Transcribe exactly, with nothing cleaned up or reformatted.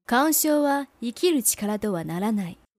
干渉は生きる力とはならない。